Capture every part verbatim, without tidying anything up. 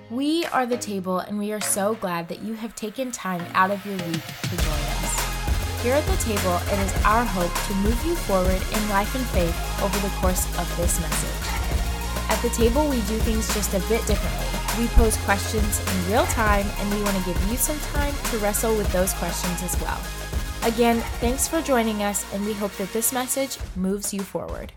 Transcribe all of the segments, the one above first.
We are The Table, and we are so glad that you have taken time out of your week to join us. Here at The Table, it is our hope to move you forward in life and faith over the course of this message. At The Table, we do things just a bit differently. We pose questions in real time, and we want to give you some time to wrestle with those questions as well. Again, thanks for joining us, and we hope that this message moves you forward.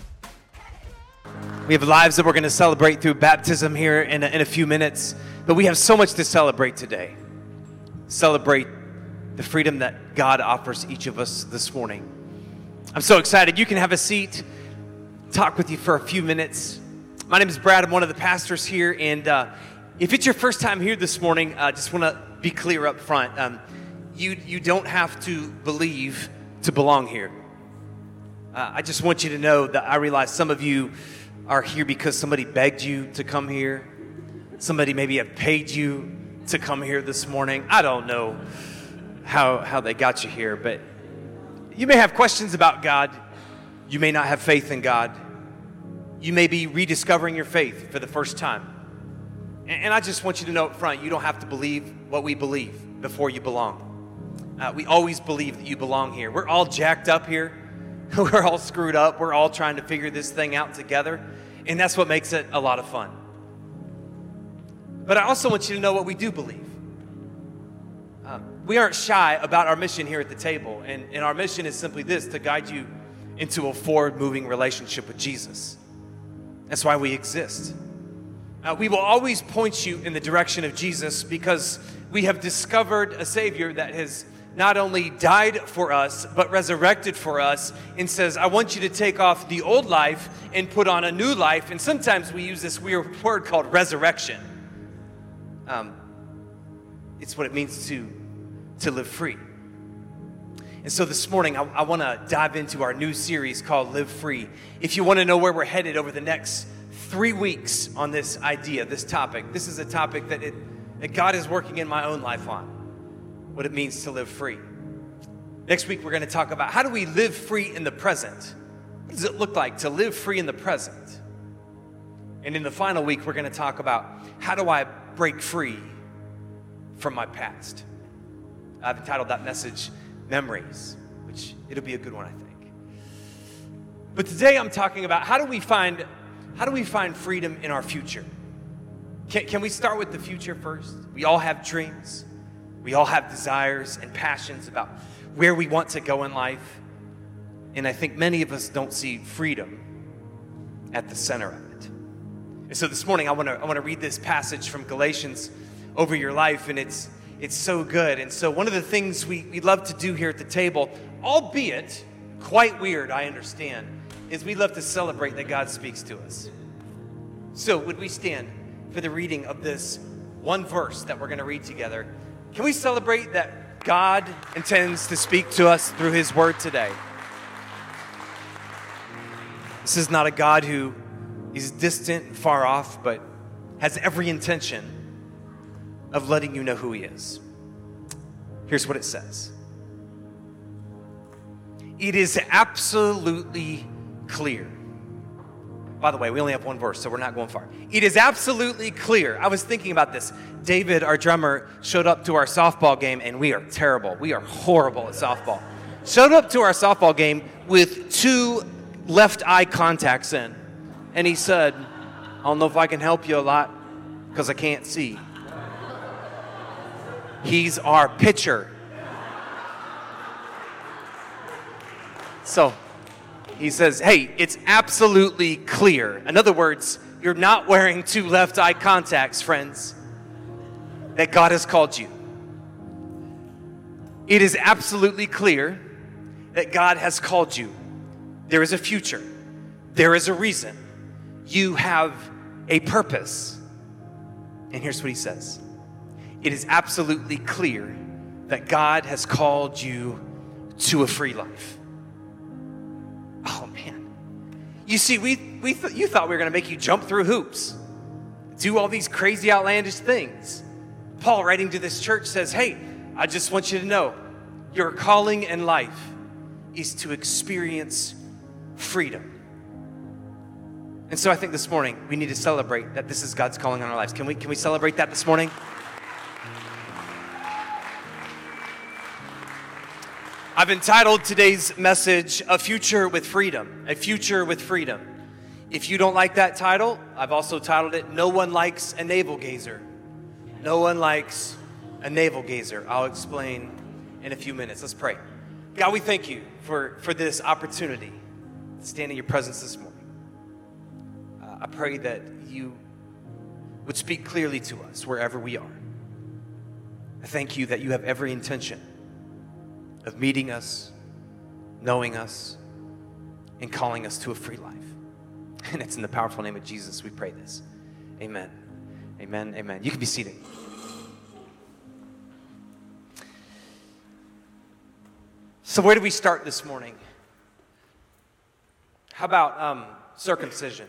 We have lives that we're going to celebrate through baptism here in a, in a few minutes, but we have so much to celebrate today. Celebrate the freedom that God offers each of us this morning. I'm so excited. You can have a seat, talk with you for a few minutes. My name is Brad. I'm one of the pastors here, and uh, if it's your first time here this morning, I uh, just want to be clear up front. Um, you, you don't have to believe to belong here. Uh, I just want you to know that I realize some of you are here because somebody begged you to come here. Somebody maybe have paid you to come here this morning. I don't know how, how they got you here, but you may have questions about God. You may not have faith in God. You may be rediscovering your faith for the first time. And, and I just want you to know up front, you don't have to believe what we believe before you belong. Uh, we always believe that you belong here. We're all jacked up here. We're all screwed up. We're all trying to figure this thing out together. And that's what makes it a lot of fun. But I also want you to know what we do believe. Uh, we aren't shy about our mission here at the table. And, and our mission is simply this, to guide you into a forward-moving relationship with Jesus. That's why we exist. Uh, we will always point you in the direction of Jesus because we have discovered a Savior that has not only died for us, but resurrected for us and says, I want you to take off the old life and put on a new life. And sometimes we use this weird word called resurrection. Um, it's what it means to, to live free. And so this morning, I, I want to dive into our new series called Live Free. If you want to know where we're headed over the next three weeks on this idea, this topic, this is a topic that, it, that God is working in my own life on. What it means to live free. Next week, we're going to talk about how do we live free in the present? What does it look like to live free in the present? And in the final week, we're going to talk about how do I break free from my past? I've entitled that message, Memories, which it'll be a good one, I think. But today I'm talking about how do we find, how do we find freedom in our future? Can, can we start with the future first? We all have dreams. We all have desires and passions about where we want to go in life. And I think many of us don't see freedom at the center of it. And so this morning I want to I want to read this passage from Galatians over your life, and it's it's so good. And so one of the things we, we love to do here at the table, albeit quite weird, I understand, is we love to celebrate that God speaks to us. So would we stand for the reading of this one verse that we're going to read together? Can we celebrate that God intends to speak to us through His Word today? This is not a God who is distant and far off, but has every intention of letting you know who He is. Here's what it says. It is absolutely clear. By the way, we only have one verse, so we're not going far. It is absolutely clear. I was thinking about this. David, our drummer, showed up to our softball game, and we are terrible. We are horrible at softball. Showed up to our softball game with two left eye contacts in. And he said, I don't know if I can help you a lot because I can't see. He's our pitcher. So he says, hey, it's absolutely clear. In other words, you're not wearing two left eye contacts, friends, that God has called you. It is absolutely clear that God has called you. There is a future. There is a reason. You have a purpose. And here's what he says. It is absolutely clear that God has called you to a free life. Oh, man. You see, we, we th- you thought we were going to make you jump through hoops, do all these crazy, outlandish things. Paul, writing to this church, says, hey, I just want you to know your calling in life is to experience freedom. And so I think this morning we need to celebrate that this is God's calling on our lives. Can we, can we celebrate that this morning? I've entitled today's message, A Future with Freedom. A Future with Freedom. If you don't like that title, I've also titled it, No One Likes a Navel Gazer. No one likes a navel gazer. I'll explain in a few minutes. Let's pray. God, we thank you for, for this opportunity to stand in your presence this morning. Uh, I pray that you would speak clearly to us wherever we are. I thank you that you have every intention of meeting us, knowing us, and calling us to a free life. And it's in the powerful name of Jesus we pray this. Amen. Amen. Amen. You can be seated. So where do we start this morning? How about um, circumcision?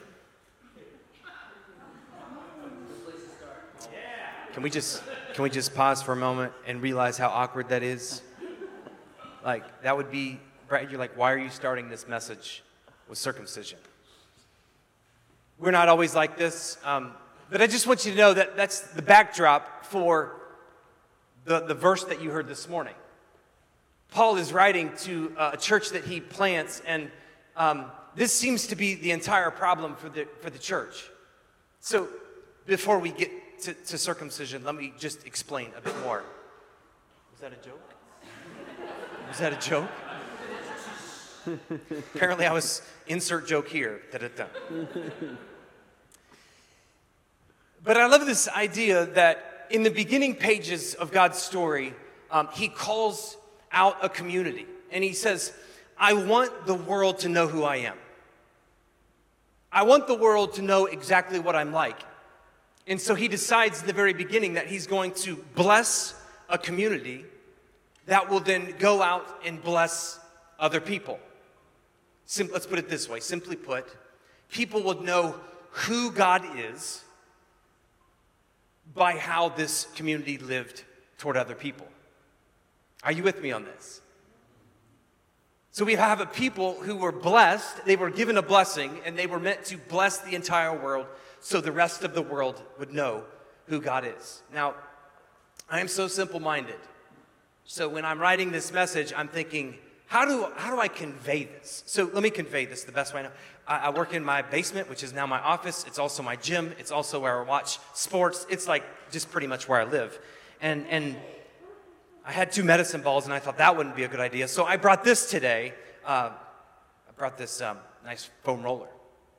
Can we just can we just pause for a moment and realize how awkward that is? Like that would be, Brad, you're like, why are you starting this message with circumcision? We're not always like this, um, but I just want you to know that that's the backdrop for the, the verse that you heard this morning. Paul is writing to a church that he plants, and um, this seems to be the entire problem for the for the church. So before we get to, to circumcision, let me just explain a bit more. Was that a joke? Was that a joke? Apparently I was, insert joke here. Da-da-da. But I love this idea that in the beginning pages of God's story, um, he calls out a community. And he says, I want the world to know who I am. I want the world to know exactly what I'm like. And so he decides in the very beginning that he's going to bless a community that will then go out and bless other people. Sim- let's put it this way. Simply put, people will know who God is by how this community lived toward other people. Are you with me on this? So we have a people who were blessed, they were given a blessing, and they were meant to bless the entire world so the rest of the world would know who God is. Now, I am so simple-minded. So when I'm writing this message, I'm thinking, how do, how do I convey this? So let me convey this the best way I know. I, I work in my basement, which is now my office. It's also my gym. It's also where I watch sports. It's like just pretty much where I live. And, and I had two medicine balls, and I thought that wouldn't be a good idea. So I brought this today. Uh, I brought this um, nice foam roller.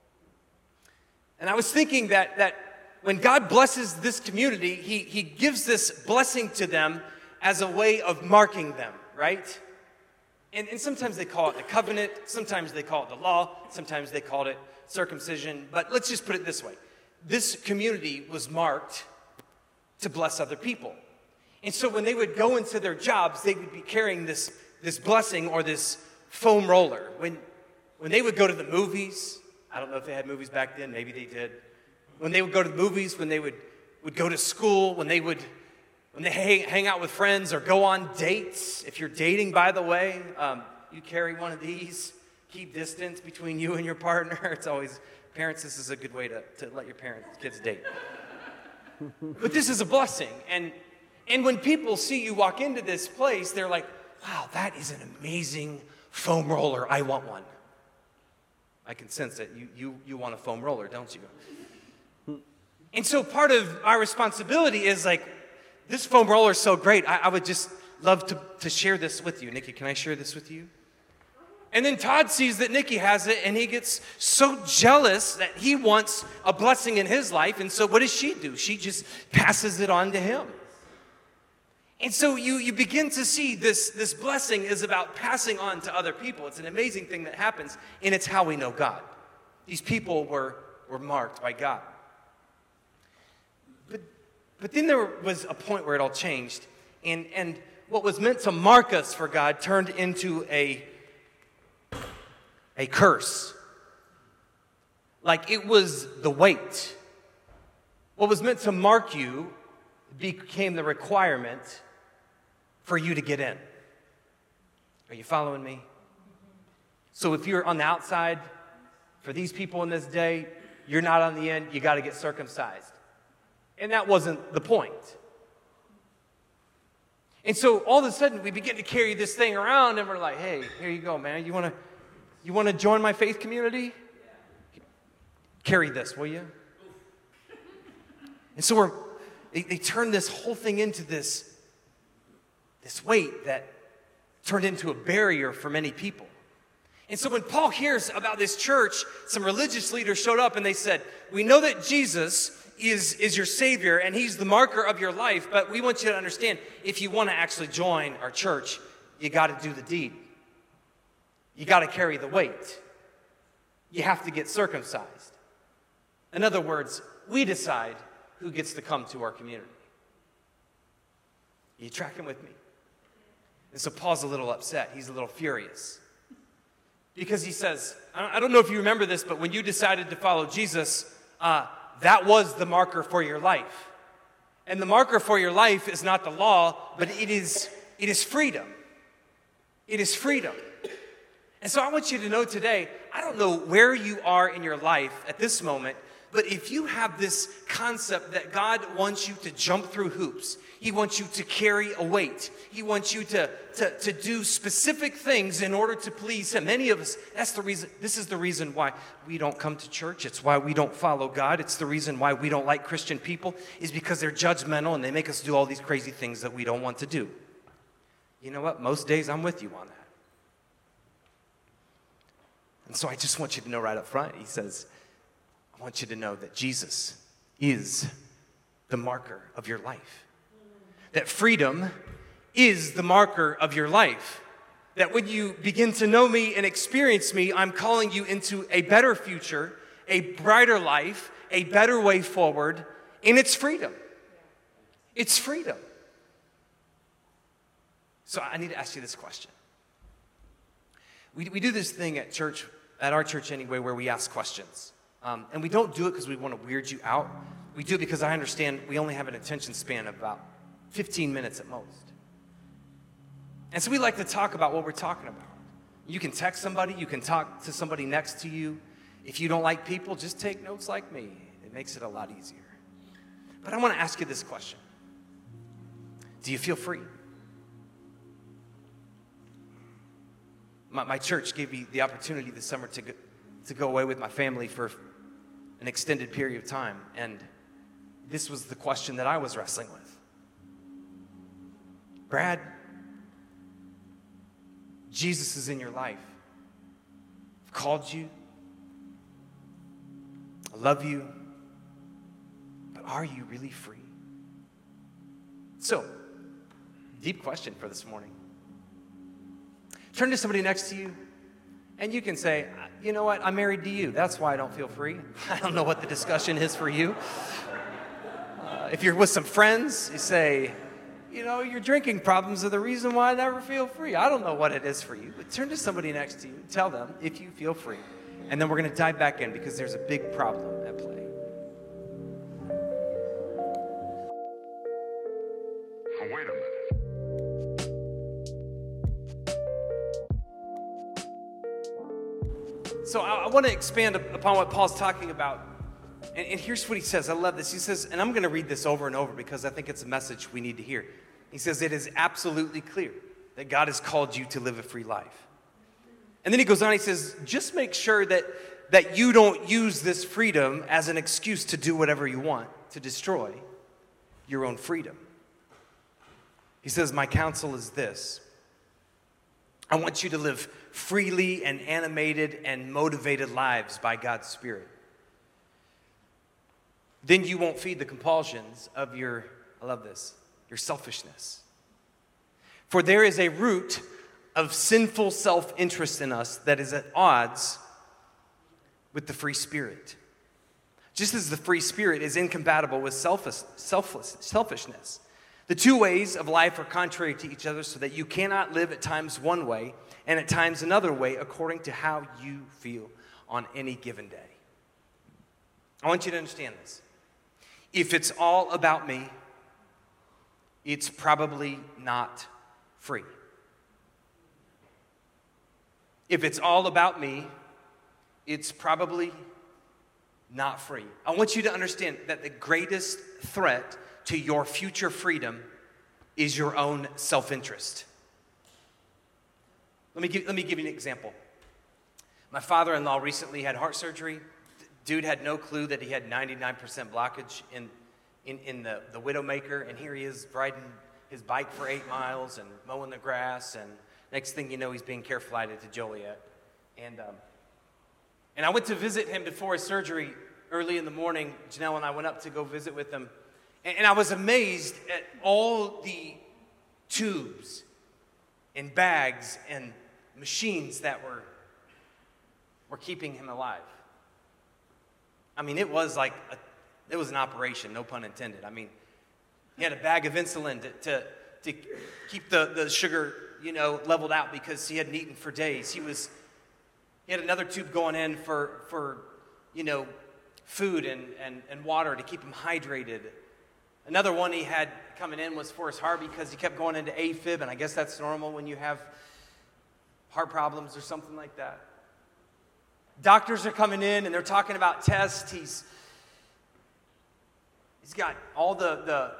And I was thinking that, that when God blesses this community, he, he gives this blessing to them as a way of marking them, right? And, and sometimes they call it the covenant, sometimes they call it the law, sometimes they call it circumcision. But let's just put it this way. This community was marked to bless other people. And so when they would go into their jobs, they would be carrying this, this blessing or this foam roller. When, when they would go to the movies, I don't know if they had movies back then, maybe they did. When they would go to the movies, when they would, would go to school, when they would when they hang, hang out with friends or go on dates. If you're dating, by the way, um, you carry one of these. Keep distance between you and your partner. It's always, parents, this is a good way to, to let your parents, kids date. But this is a blessing. And And when people see you walk into this place, they're like, wow, that is an amazing foam roller. I want one. I can sense it. You, you, you want a foam roller, don't you? And so part of our responsibility is like, this foam roller is so great. I, I would just love to, to share this with you. Nikki, can I share this with you? And then Todd sees that Nikki has it, and he gets so jealous that he wants a blessing in his life. And so what does she do? She just passes it on to him. And so you, you begin to see this, this blessing is about passing on to other people. It's an amazing thing that happens, and it's how we know God. These people were, were marked by God. But, but then there was a point where it all changed, and, and what was meant to mark us for God turned into a, a curse. Like it was the weight. What was meant to mark you became the requirement for you to get in. Are you following me? So if you're on the outside, for these people in this day, you're not on the end, you got to get circumcised. And that wasn't the point. And so all of a sudden we begin to carry this thing around and we're like, hey, here you go, man. You want to you want to join my faith community? Carry this, will you? And so we're they, they turned this whole thing into this, this weight that turned into a barrier for many people. And so when Paul hears about this church, some religious leaders showed up and they said, we know that Jesus is, is your Savior and he's the marker of your life, but we want you to understand, if you want to actually join our church, you got to do the deed. You got to carry the weight. You have to get circumcised. In other words, we decide who gets to come to our community. Are you tracking with me? And so Paul's a little upset. He's a little furious. Because he says, I don't know if you remember this, but when you decided to follow Jesus, uh, that was the marker for your life. And the marker for your life is not the law, but it is, it is freedom. It is freedom. And so I want you to know today, I don't know where you are in your life at this moment, but if you have this concept that God wants you to jump through hoops, He wants you to carry a weight, He wants you to, to, to do specific things in order to please Him. Many of us, that's the reason, this is the reason why we don't come to church. It's why we don't follow God. It's the reason why we don't like Christian people, is because they're judgmental and they make us do all these crazy things that we don't want to do. You know what? Most days I'm with you on that. And so I just want you to know right up front, He says, I want you to know that Jesus is the marker of your life. That freedom is the marker of your life. That when you begin to know me and experience me, I'm calling you into a better future, a brighter life, a better way forward, and it's freedom. It's freedom. So I need to ask you this question. We, we do this thing at church, at our church anyway, where we ask questions. Um, and we don't do it because we want to weird you out. We do it because I understand we only have an attention span of about fifteen minutes at most. And so we like to talk about what we're talking about. You can text somebody. You can talk to somebody next to you. If you don't like people, just take notes like me. It makes it a lot easier. But I want to ask you this question. Do you feel free? My, my church gave me the opportunity this summer to go, to go away with my family for an extended period of time. And this was the question that I was wrestling with. Brad, Jesus is in your life. I've called you. I love you. But are you really free? So, deep question for this morning. Turn to somebody next to you, and you can say, you know what, I'm married to you. That's why I don't feel free. I don't know what the discussion is for you. Uh, if you're with some friends, you say, you know, your drinking problems are the reason why I never feel free. I don't know what it is for you, but turn to somebody next to you. Tell them if you feel free. And then we're going to dive back in because there's a big problem at play. Wait a minute. So I, I want to expand upon what Paul's talking about. And, and here's what he says. I love this. He says, and I'm going to read this over and over because I think it's a message we need to hear. He says, it is absolutely clear that God has called you to live a free life. And then he goes on, he says, just make sure that, that you don't use this freedom as an excuse to do whatever you want, to destroy your own freedom. He says, my counsel is this. I want you to live freely and animated and motivated lives by God's Spirit. Then you won't feed the compulsions of your, I love this, your selfishness. For there is a root of sinful self-interest in us that is at odds with the free spirit. Just as the free spirit is incompatible with selfish, selfless, selfishness. The two ways of life are contrary to each other, so that you cannot live at times one way and at times another way according to how you feel on any given day. I want you to understand this. If it's all about me, it's probably not free. If it's all about me, it's probably not free. I want you to understand that the greatest threat to your future freedom is your own self-interest. Let me give, let me give you an example. My father-in-law recently had heart surgery. Dude had no clue that he had ninety-nine percent blockage in, in, in the, the Widowmaker, and here he is riding his bike for eight miles and mowing the grass, and next thing you know, he's being care flighted to Joliet. And um, and I went to visit him before his surgery early in the morning. Janelle and I went up to go visit with him, and, and I was amazed at all the tubes and bags and machines that were were keeping him alive. I mean, it was like, a, it was an operation, no pun intended. I mean, he had a bag of insulin to, to, to keep the, the sugar, you know, leveled out because he hadn't eaten for days. He was, he had another tube going in for, for you know, food and, and, and water to keep him hydrated. Another one he had coming in was for his heart because he kept going into AFib, and I guess that's normal when you have heart problems or something like that. Doctors are coming in and they're talking about tests. He's he's got all the the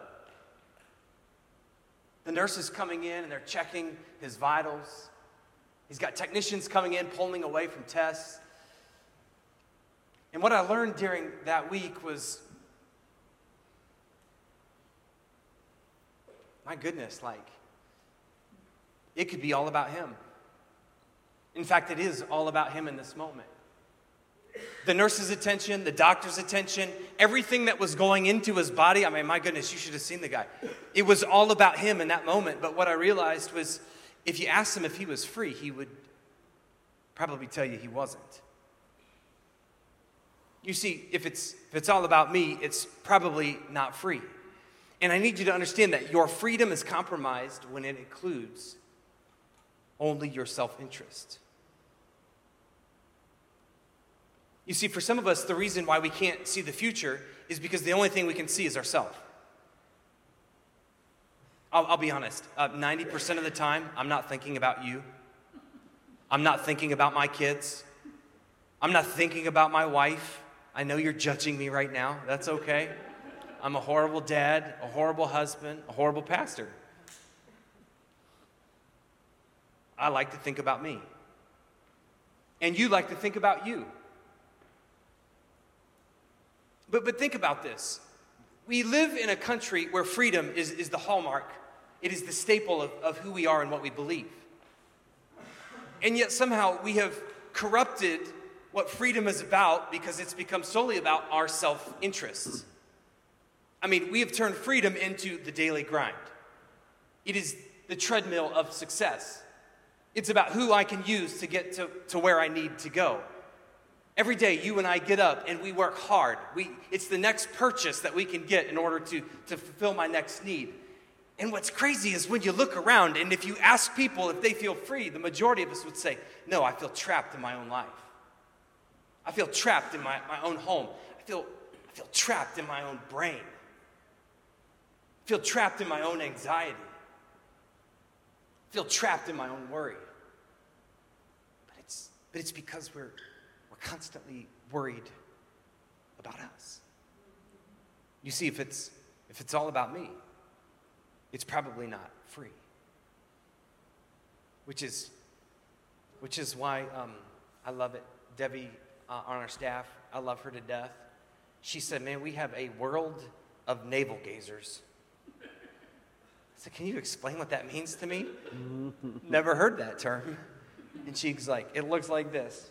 the nurses coming in and they're checking his vitals. He's got technicians coming in pulling away from tests. And what I learned during that week was, my goodness, like, it could be all about him. In fact, it is all about him in this moment. The nurse's attention, the doctor's attention, everything that was going into his body. I mean, my goodness, you should have seen the guy. It was all about him in that moment. But what I realized was, if you asked him if he was free, he would probably tell you he wasn't. You see, if it's if it's all about me, it's probably not free. And I need you to understand that your freedom is compromised when it includes only your self-interest. You see, for some of us, the reason why we can't see the future is because the only thing we can see is ourselves. I'll, I'll be honest, uh, ninety percent of the time, I'm not thinking about you. I'm not thinking about my kids. I'm not thinking about my wife. I know you're judging me right now. That's okay. I'm a horrible dad, a horrible husband, a horrible pastor. I like to think about me. And you like to think about you. But but think about this. We live in a country where freedom is, is the hallmark. It is the staple of, of who we are and what we believe. And yet somehow we have corrupted what freedom is about because it's become solely about our self-interests. I mean, we have turned freedom into the daily grind. It is the treadmill of success. It's about who I can use to get to, to where I need to go. Every day, you and I get up and we work hard. We, it's the next purchase that we can get in order to, to fulfill my next need. And what's crazy is when you look around and if you ask people if they feel free, the majority of us would say, no, I feel trapped in my own life. I feel trapped in my, my own home. I feel, I feel trapped in my own brain. I feel trapped in my own anxiety. I feel trapped in my own worry. But it's, but it's because we're constantly worried about us. You see, if it's if it's all about me, it's probably not free. Which is which is why um, I love it. Debbie uh, on our staff, I love her to death. She said, "Man, we have a world of navel gazers." I said, "Can you explain what that means to me?" Never heard that term. And she's like, "It looks like this."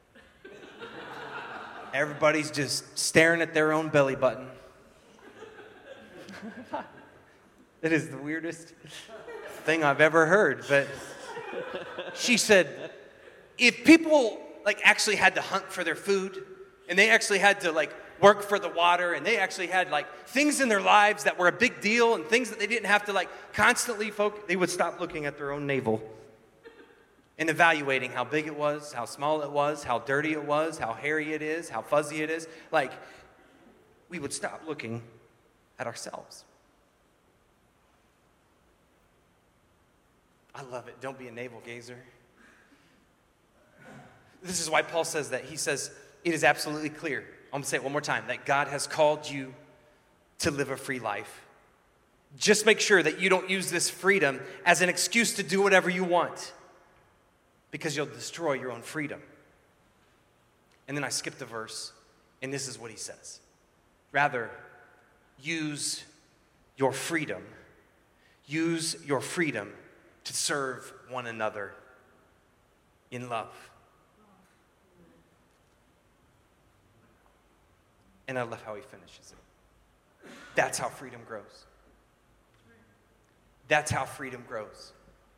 Everybody's just staring at their own belly button. It is the weirdest thing I've ever heard. But she said, if people like actually had to hunt for their food, and they actually had to like work for the water, and they actually had like things in their lives that were a big deal, and things that they didn't have to like constantly focus, they would stop looking at their own navel and evaluating how big it was, how small it was, how dirty it was, how hairy it is, how fuzzy it is. Like, we would stop looking at ourselves. I love it. Don't be a navel gazer. This is why Paul says that. He says, it is absolutely clear I'm going to say it one more time, that God has called you to live a free life. Just make sure that you don't use this freedom as an excuse to do whatever you want, because you'll destroy your own freedom. And then I skipped a verse, and this is what he says. Rather, use your freedom. Use your freedom to serve one another in love. And I love how he finishes it. That's how freedom grows. That's how freedom grows.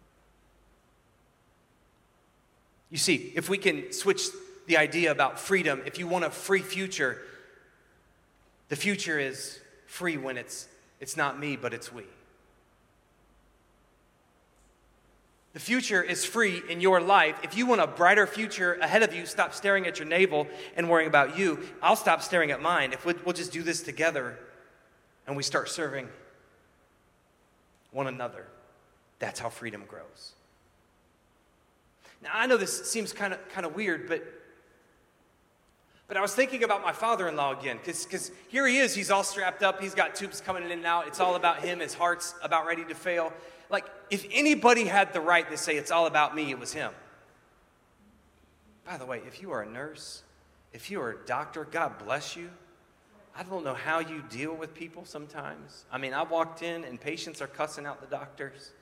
You see, if we can switch the idea about freedom, if you want a free future, the future is free when it's it's not me, but it's we. The future is free in your life. If you want a brighter future ahead of you, stop staring at your navel and worrying about you. I'll stop staring at mine. If we'll, we'll just do this together and we start serving one another, that's how freedom grows. Now, I know this seems kind of kind of weird, but but I was thinking about my father-in-law again, because because here he is, he's all strapped up, he's got tubes coming in and out, it's all about him, his heart's about ready to fail. Like, if anybody had the right to say it's all about me, it was him. By the way, if you are a nurse, if you are a doctor, God bless you. I don't know how you deal with people sometimes. I mean, I walked in and patients are cussing out the doctors.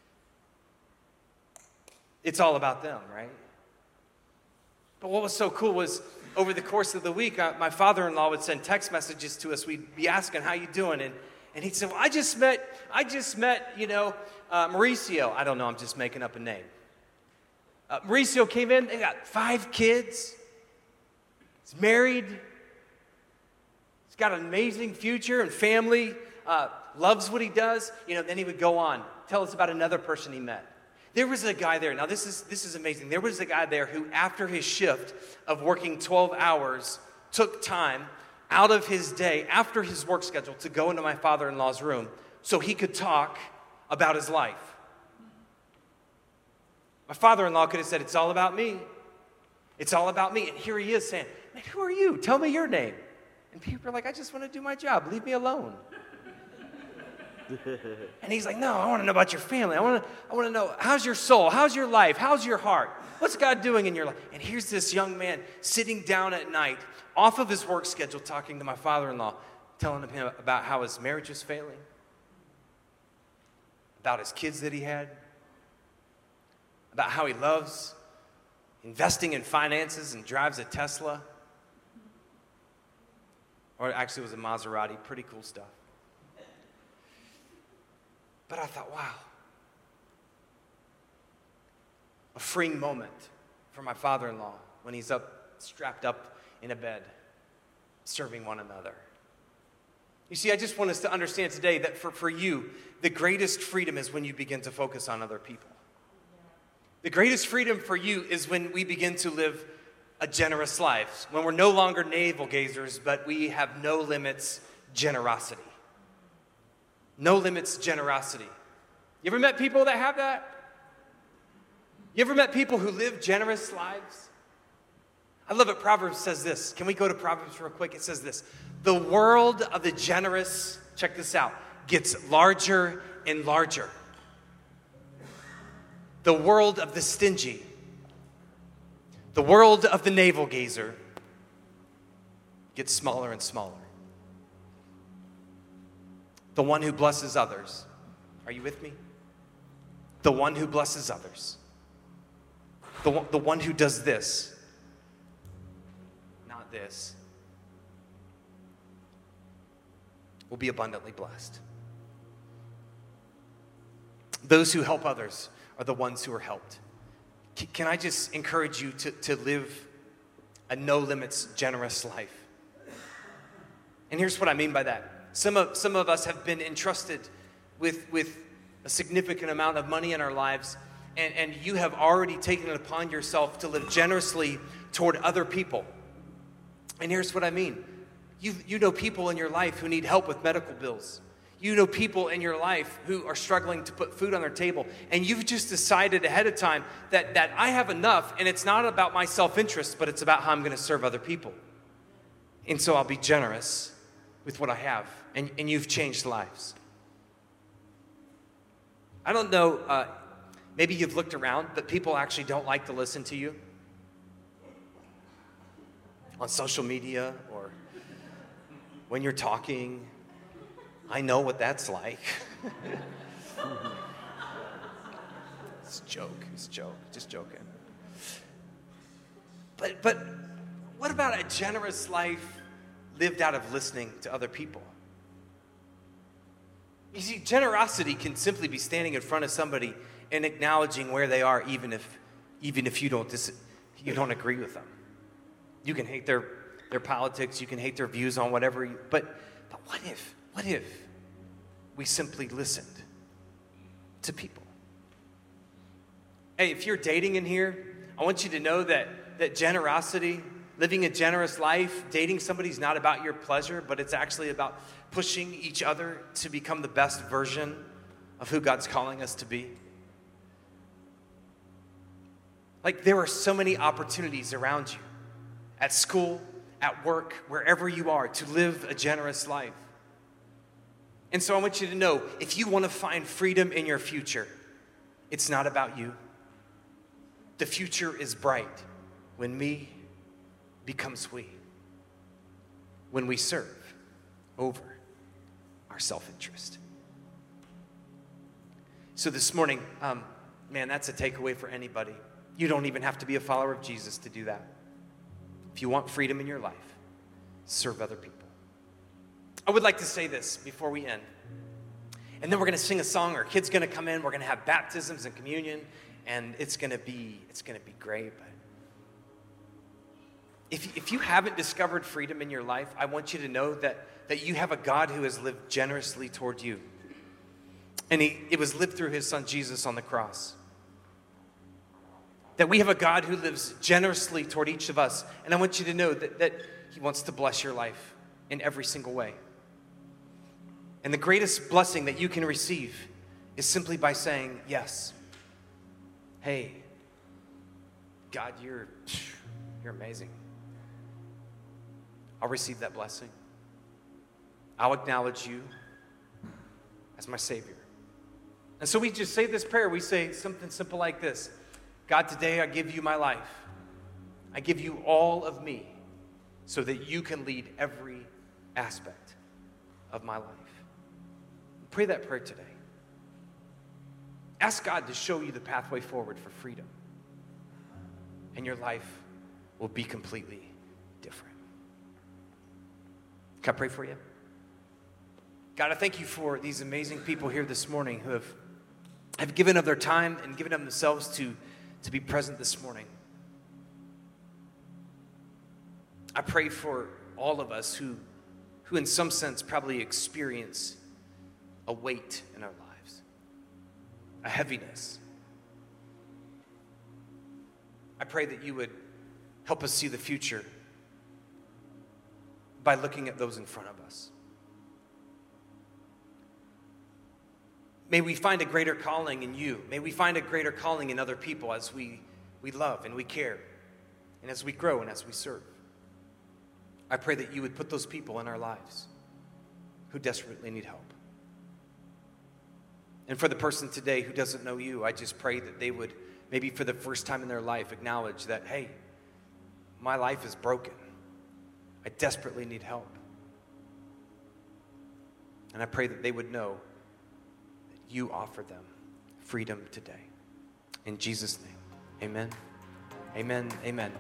It's all about them, right? But what was so cool was over the course of the week, uh, my father-in-law would send text messages to us. We'd be asking, how you doing? And, and he'd say, well, I just met, I just met, you know, uh, Mauricio. I don't know, I'm just making up a name. Uh, Mauricio came in, they got five kids. He's married. He's got an amazing future and family, uh, loves what he does. You know, then he would go on, tell us about another person he met. There was a guy there. Now, this is this is amazing. There was a guy there who, after his shift of working twelve hours, took time out of his day, after his work schedule, to go into my father-in-law's room so he could talk about his life. My father-in-law could have said, it's all about me. It's all about me. And here he is saying, man, who are you? Tell me your name. And people are like, I just want to do my job. Leave me alone. And he's like, no, I want to know about your family. I want to I want to know, how's your soul? How's your life? How's your heart? What's God doing in your life? And here's this young man sitting down at night off of his work schedule talking to my father-in-law, telling him about how his marriage was failing, about his kids that he had, about how he loves investing in finances and drives a Tesla. Or actually it was a Maserati. Pretty cool stuff. But I thought, wow, a freeing moment for my father-in-law when he's up, strapped up in a bed, serving one another. You see, I just want us to understand today that for, for you, the greatest freedom is when you begin to focus on other people. The greatest freedom for you is when we begin to live a generous life, when we're no longer navel gazers, but we have no limits generosity. No limits generosity. You ever met people that have that? You ever met people who live generous lives? I love it. Proverbs says this. Can we go to Proverbs real quick? It says this. The world of the generous, check this out, gets larger and larger. The world of the stingy, the world of the navel gazer gets smaller and smaller. The one who blesses others. Are you with me? The one who blesses others. The one, the one who does this. Not this. Will be abundantly blessed. Those who help others are the ones who are helped. C- can I just encourage you to, to live a no-limits, generous life? And here's what I mean by that. Some of, some of us have been entrusted with, with a significant amount of money in our lives, and, and you have already taken it upon yourself to live generously toward other people. And here's what I mean. You, you know people in your life who need help with medical bills. You know people in your life who are struggling to put food on their table, and you've just decided ahead of time that, that I have enough, and it's not about my self-interest, but it's about how I'm going to serve other people. And so I'll be generous with what I have. And, and you've changed lives. I don't know, uh, maybe you've looked around, but people actually don't like to listen to you on social media or when you're talking. I know what that's like. It's a joke, it's a joke, just joking. But, but what about a generous life lived out of listening to other people? You see, generosity can simply be standing in front of somebody and acknowledging where they are, even if, even if you don't dis- you don't agree with them. You can hate their, their politics, you can hate their views on whatever, you, but, but what if, what if we simply listened to people? Hey, if you're dating in here, I want you to know that, that generosity, living a generous life, dating somebody is not about your pleasure, but it's actually about pushing each other to become the best version of who God's calling us to be. Like, there are so many opportunities around you, at school, at work, wherever you are, to live a generous life. And so I want you to know, if you want to find freedom in your future, it's not about you. The future is bright when me becomes we. When we serve over our self-interest. So this morning, um, man, that's a takeaway for anybody. You don't even have to be a follower of Jesus to do that. If you want freedom in your life, serve other people. I would like to say this before we end. And then we're going to sing a song. Our kid's going to come in. We're going to have baptisms and communion. And it's going to be, it's going to be great. But if, if you haven't discovered freedom in your life, I want you to know that, that you have a God who has lived generously toward you. And he, it was lived through his son Jesus on the cross. That we have a God who lives generously toward each of us. And I want you to know that, that he wants to bless your life in every single way. And the greatest blessing that you can receive is simply by saying, yes. Hey, God, you're, you're amazing. I'll receive that blessing. I'll acknowledge you as my Savior. And so we just say this prayer. We say something simple like this. God, today I give you my life. I give you all of me so that you can lead every aspect of my life. Pray that prayer today. Ask God to show you the pathway forward for freedom. And your life will be completely different. Can I pray for you? God, I thank you for these amazing people here this morning who have, have given of their time and given of themselves to, to be present this morning. I pray for all of us who, who in some sense probably experience a weight in our lives, a heaviness. I pray that you would help us see the future by looking at those in front of us. May we find a greater calling in you. May we find a greater calling in other people as we, we love and we care and as we grow and as we serve. I pray that you would put those people in our lives who desperately need help. And for the person today who doesn't know you, I just pray that they would, maybe for the first time in their life, acknowledge that, hey, my life is broken. I desperately need help. And I pray that they would know that you offer them freedom today. In Jesus' name, amen. Amen. Amen.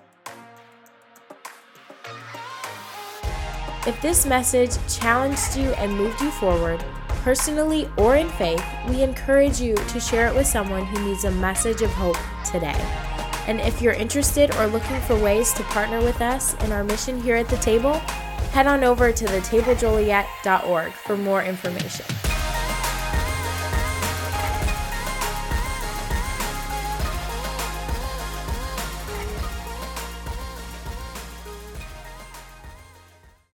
If this message challenged you and moved you forward, personally or in faith, we encourage you to share it with someone who needs a message of hope today. And if you're interested or looking for ways to partner with us in our mission here at the table, head on over to the table joliet dot org for more information.